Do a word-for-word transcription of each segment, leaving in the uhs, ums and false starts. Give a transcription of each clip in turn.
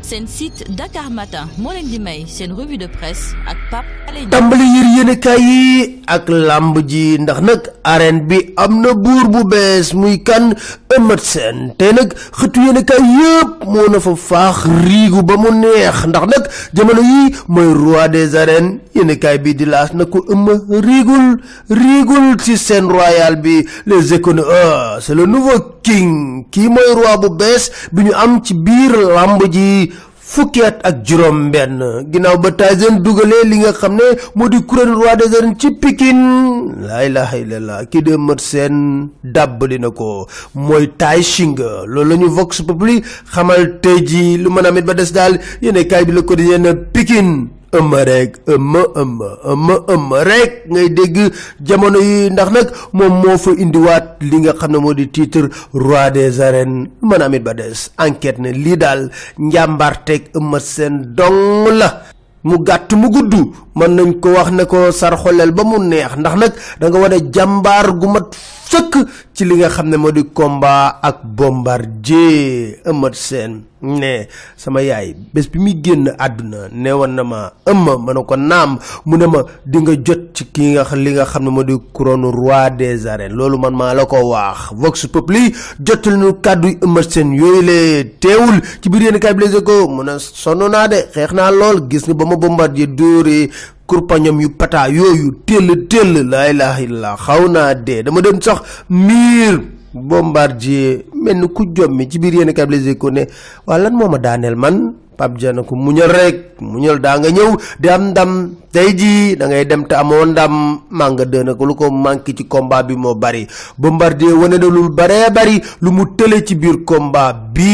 seen site Dakar Matin moo leen di may seen revue de presse ak Pape Alé Niang. tàmbali yër yéenekaay yi ak làmb ji ndax nag arène bi am na buur bu bees muy kan Eumeu Sène tey nag xëtu yéenekaay yëpp moo na fa faax riigu ba mu neex ndax nag jamono yi mooy roi des arènes yéenekaay bi di laas na ko Eumeu riigul riigul ci scène royale bi les économies ah c'est le nouveau king kii mooy roi bu bees bi ñu am ci biir làmb ji fukki at ak juróom benn ginnaaw ba Tyson dugalee li nga xam ne moo di couronne roi des arènes ci Pikine laa ilaha illallah kii de Eumeu Sène dàbbali na ko mooy Tay Shinger loolu la ñu Vox Populi xamal tey ji lu mën a mit ba des daal yéene kaay bi la ko di yenn Pikine Eumeu rek Eumeu Eumeu Eumeu Eumeu rek ngay dégg jamono yi ndax nag moom moo fa indiwaat li nga xam ne moo di titre roi des arènes mën a amit ba des enquête ne lii daal njàmbaarteeg Eumeu Sène dong la mu gàtt mu gudd mën nañ ko wax ne ko sarxoleel ba mu neex ndax nag da nga wane jàmbaar gu mat sëkk ci li nga xam ne moo di combat ak Bombardier Eumeu Sène ne sama yaay bés bi muy génn àdduna ne woon na ma Eumeu ma ne ko naam mu ne ma di nga jot ci ki nga li nga xam ne moo di couronne roi des arènes loolu man maa la ko wax Vox Populi jotal ñu kàddu Eumeu Sène yooyu le teewul ci biir yéen kaay bi Les Échos mu ne sonn naa de xeex naa lool gis nga ba ma Bombardier dóoree kurpañam yu pata yooyu téll téll laa ilaha illallah xaw naa dee dama dem sax miir Bombardier mel ni ku jommi ci biir yéen kaay bi Les Échos ne waa lan moo ma daaneel man Pape Diana ko muñal rek muñal daa nga ñëw di am ndam tey jii da ngay dem te amoo ndam maa nga dëna ko lu ko manqué ci combat bi moo bari Bombardier wane na lu baree bari lu mu tële ci biir combat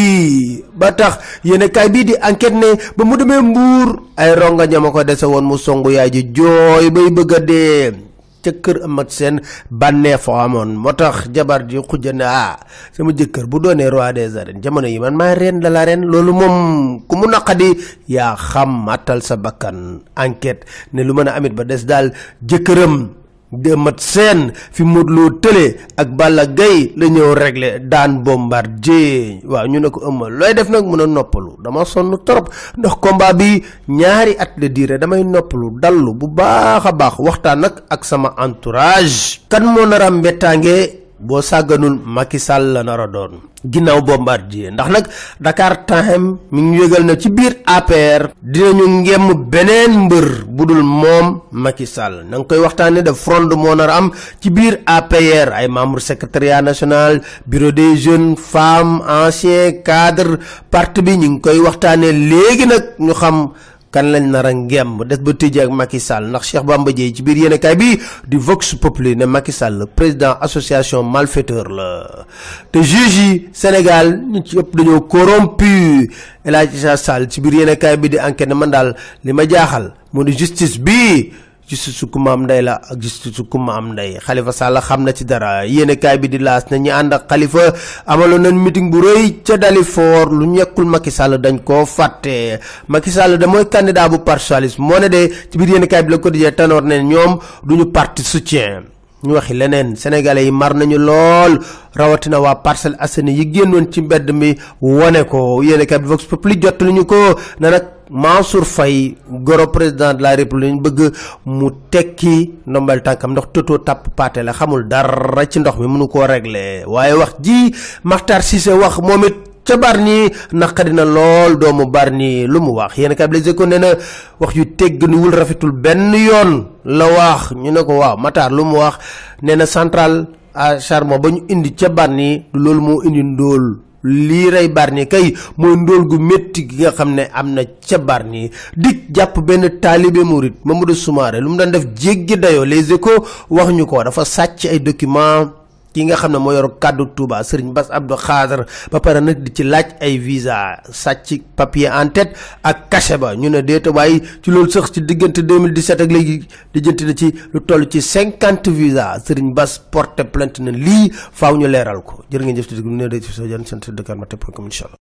bii ba tax yéen kaay bii di enquête ne ba mu demee Mbuur ay ronga ñama ko dese woon mu songu yaay ji jooy bay bëgg a dee ca kër Eumeu Sène bànnee fa amoon moo tax jabar ji xujja ne ah sama jëkkër bu doonee roi des arènes jamono yi man maay reine de l'arène loolu moom ku mu naqadi yaa xam matal sa bakkan enquête ne lu mën a amit ba des daal jëkkëram de Eumeu Sène fi Modou Lo tële ak Balla Gaye la ñëw régler daan Bombardier waaw ñu ne ko Eumeu looy def nag mën a noppalu dama sonn trop ndax combat bi ñaari at la diire damay noppalu dallu bu baax a baax waxtaan nag ak sama entourage kan moo nar a mbettaange boo sàgganul Macky Sall la nar a doon ginnaaw Bombardier ndax nag Dakar Time mi ngi yëgal na ci biir A P R dinañu ngemm beneen mbër bu dul moom Macky Sall na nga koy waxtaanee de front moo nar a am ci biir A P R ay membre secrétariat national bureau des jeunes femmes anciens cadres parti bi ñu ngi koy waxtaanee léegi nag ñu xam kan lañ nar a ngemb des ba tëjee ak Macky Sall ndax Cheikh Bamba Dièye ci biir yéenekaay bi di Vox Populi ne Macky Sall président association malfaiteur la te juge yi Sénégal ñu ci ëpp dañoo corrompu El Hadji Sall ci biir yéenekaay bi di enquête ne man daal li ma jaaxal moo di justice bi justice su kumba am ndey la ak justice su kumba am ndey Khalifa Sall xam na ci dara yéenekaay bi di laas na ñi ànd ak Khalifa amaloon nañ meeting bu rëy ca Dalifort lu ñekkul Macky Sall dañ koo fàtte Macky Sall da mooy candidat bu parti socialiste moo ne de ci biir yéenekaay bi la ko dijee tanoor ne ñoom duñu parti soutien ñu waxi leneen sénégalais yi mar nañu lool rawatina waa Parcelles Assainies yi génnoon ci mbedd mi wone ko yéenekaay bi Vox Populi jot lu ñu ko na nag Mansour Faye goro président de la République bëgg mu tekki ndombal tànkam ndax toto tàpp paate la xamul dara ci ndox mi mënu koo régler waaye wax ji Makhtar Cissé wax moom it ca Bargny naqari na lool doomu Bargny lu mu wax yéen kay Les Échos nee na wax yu tegganiwul rafetul benn yoon la wax ñu ne ko waaw Matar lu mu wax nee na centrale à charbon ba ñu indi ca Bargny du loolu moo indi ndóol lii rey Bargny kay mooy ndóol gu métti gi nga xam ne am na ca Bargny dik jàpp benn taalibe murit Mamadou Soumaré lu mu daan def jéggi dayoo Les Échos wax ñu ko dafa sàcc ay document ki nga xam ne moo yor kàddu Touba Serigne Bass Abdou Khadre ba pare nag di ci laaj ay visa sàcc papier en tête ak cachet ba ñu ne déeta waaye ci loolu sax ci diggante deux mille dix-sept ak léegi dijjanti na ci lu toll ci cinquante visa Serigne Bass porté plainte na lii faaw ñu leeral ko jërë ngeen jëf ci déglu ne day ci so jan sant Dakar Matin point com inshallah